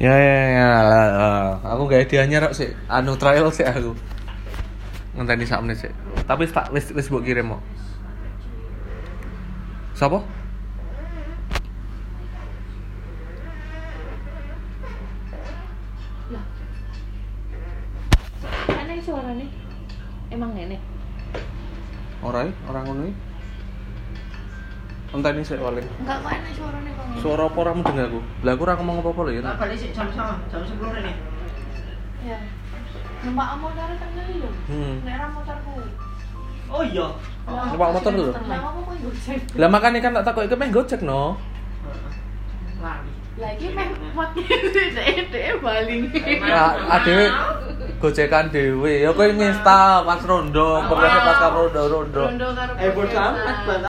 Ya. Aku gak hadiahnya rok sih. Anu trial sih aku. Ngenteni sak menit sih. Tapi wis mbok kirim kok. Sapa? Lah. Aneh suarane. Emang ngene. Ora ngono iki. Enteni sik paling. Enggak kok aneh suarane kok ngene. Suara apa ora mudeng aku? Lah aku ora ngomong apa-apa lho ya. Tak balik sik jam 10 ini. Ya. Numpak motor tengeli lho. Nek ra motorku. Oh iya. Numpak motor lho. Lah apa kok Gojek? Lah makane kan tak takoki meh Gojek no. Lali. Lah iki meh dhek baling. Adewe gojekan dhewe. Ya kowe ngesta pas rondo, pokoknya pas karo rondo. Rondo karo Bodo amat.